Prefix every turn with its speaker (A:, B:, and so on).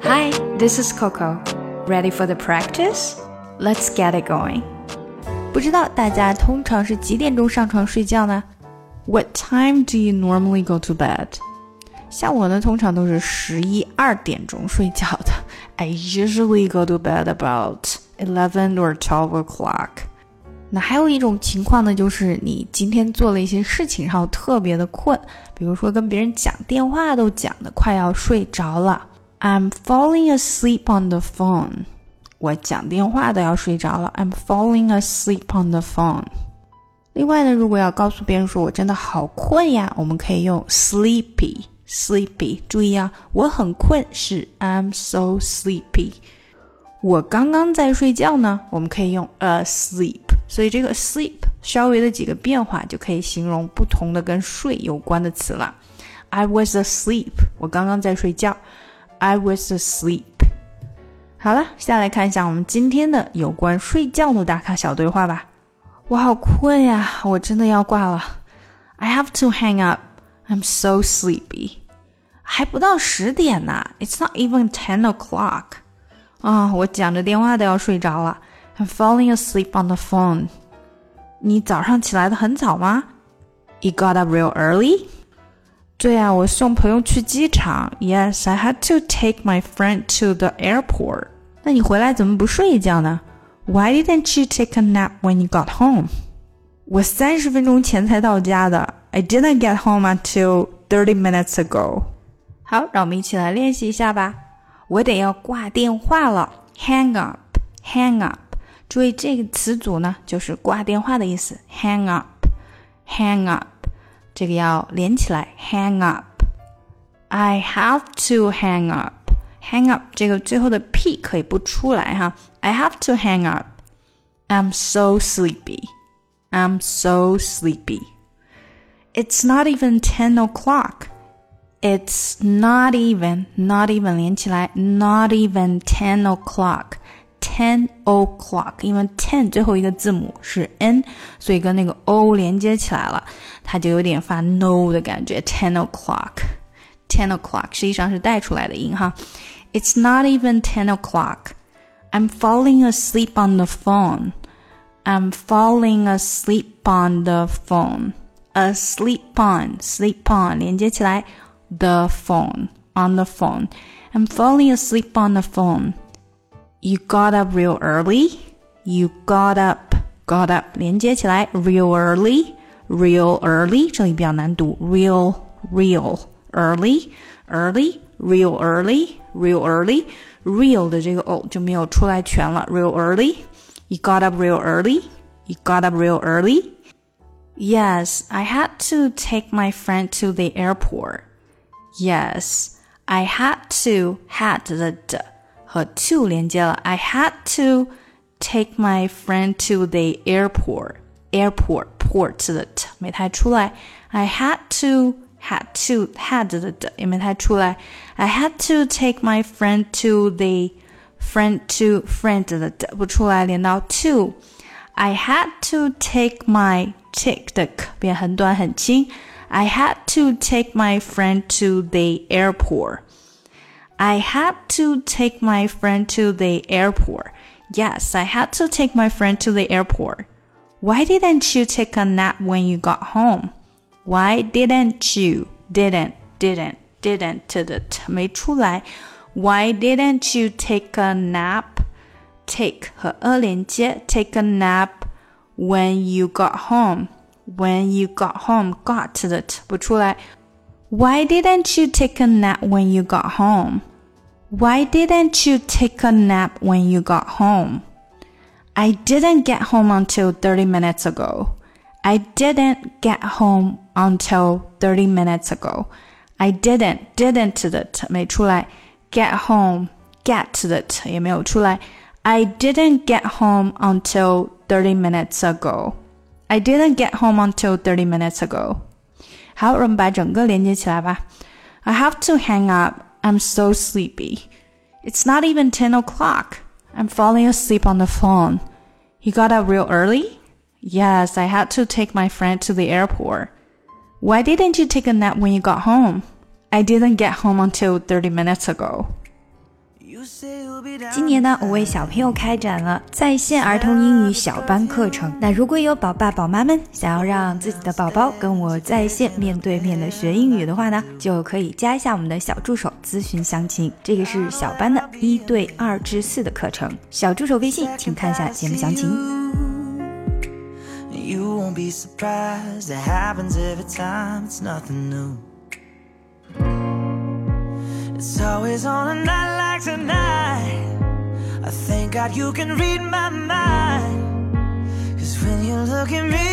A: Hi, this is Coco. Ready for the practice? Let's get it going.
B: 不知道大家通常是几点钟上床睡觉呢？
A: What time do you normally go to bed?
B: 像我呢，通常都是11、2点钟睡觉的。
A: I usually go to bed about 11 or 12 o'clock.
B: 那还有一种情况呢，就是你今天做了一些事情，然后特别的困，比如说跟别人讲电话都讲的快要睡着了。
A: I'm falling asleep on the phone. 我讲电话都要睡着了。I'm falling asleep on the phone.
B: 另外呢，如果要告诉别人说我真的好困呀，我们可以用 sleepy。注意啊，我很困是 I'm so sleepy。我刚刚在睡觉呢，我们可以用 asleep。所以这个 sleep 稍微的几个变化就可以形容不同的跟睡有关的词了。I was asleep. 我刚刚在睡觉。I was asleep. 好了，下来看一下我们今天的有关睡觉的打卡小对话吧。我好困呀，我真的要挂了。I have to hang up. I'm so sleepy. 还不到10点呢 It's not even 10 o'clock. 我讲着电话都要睡着了。I'm falling asleep on the phone. 你早上起来的很早吗？
A: You got up real early?
B: 对啊，我送朋友去机场。Yes, I had to take my friend to the airport. 那你回来怎么不睡一觉呢？ Why didn't you take a nap when you got home? 我30分钟前才到家的。I didn't get home until 30 minutes ago. 好，让我们一起来练习一下吧。我得要挂电话了。Hang up, hang up. 注意这个词组呢，就是挂电话的意思。Hang up, hang up.这个要连起来 hang up. I have to hang up. Hang up 这个最后的 P 可以不出来哈。I have to hang up. I'm so sleepy. I'm so sleepy. It's not even 10 o'clock. It's not even 连起来 not even 10 o'clock.10 o'clock 因为 10 最后一个字母是 N 所以跟那个 O 连接起来了它就有点发 no 的感觉 10 o'clock 实际上是带出来的音哈 It's not even 10 o'clock I'm falling asleep on the phone I'm falling asleep on the phone Asleep on sleep on 连接起来 the phone on the phone I'm falling asleep on the phone You got up real early. You got up 连接起来 real early 这里比较难读 real early real 的这个 o 就没有出来全了 real early You got up real early Yes, I had to take my friend to the airport. Yes, I had the和 to 连接了 I had to take my friend to the airport port 的 t 没太出来 I had的 d 也没太出来 I had to take my friend to the friend的 d 不出来连到 to I had to take my take 的 k 变很短很轻 I had to take my friend to the airport I had to take my friend to the airport. Yes, I had to take my friend to the airport. Why didn't you take a nap when you got home? Why didn't you? Didn't 的 t 没出来。Why didn't you take a nap? Take 和 a 连接 take a nap when you got home. When you got home, got 的 t 不出来。Why didn't you take a nap when you got home? Why didn't you take a nap when you got home? I didn't get home until 30 minutes ago. I didn't get home until 30 minutes ago. I didn't 的 t 没出来 get home get 的 t 也没有出来 I didn't get home until 30 minutes ago. I didn't get home until 30 minutes ago.好，我们把整个连接起来吧。I have to hang up. I'm so sleepy. It's not even 10 o'clock. I'm falling asleep on the phone. You got up real early? Yes, I had to take my friend to the airport. Why didn't you take a nap when you got home? I didn't get home until 30 minutes ago.
C: 今年呢，我为小朋友开展了在线儿童英语小班课程。那如果有宝爸宝妈们想要让自己的宝宝跟我在线面对面的学英语的话呢，就可以加一下我们的小助手咨询详情。这个是小班的1对2至4的课程，小助手微信请看一下节目详情。
D: You won't be surprised, it happens every time, it's nothing new. It's always on a night like tonight, I thank God you can read my mind, 'cause when you look at me